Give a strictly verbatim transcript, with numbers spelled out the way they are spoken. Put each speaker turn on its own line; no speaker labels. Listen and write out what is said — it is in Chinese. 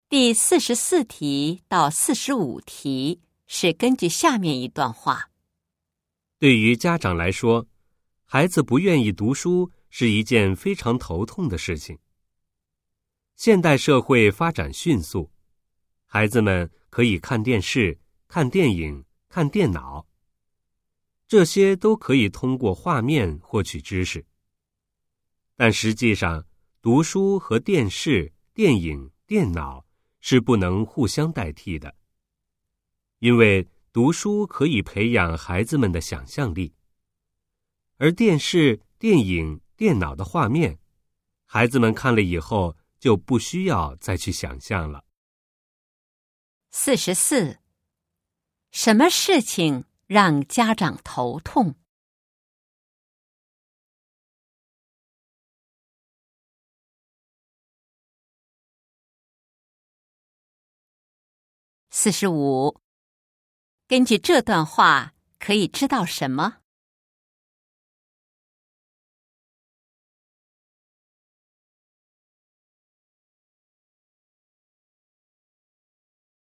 第四十四题到四十五题是根据下面一段话。
对于家长来说，孩子不愿意读书是一件非常头痛的事情。现代社会发展迅速，孩子们可以看电视、看电影、看电脑，这些都可以通过画面获取知识。但实际上，读书和电视、电影、电脑是不能互相代替的，因为读书可以培养孩子们的想象力，而电视、电影、电脑的画面，孩子们看了以后就不需要再去想象了。
四十四，什么事情让家长头痛？四十五，根据这段话可以知道什么？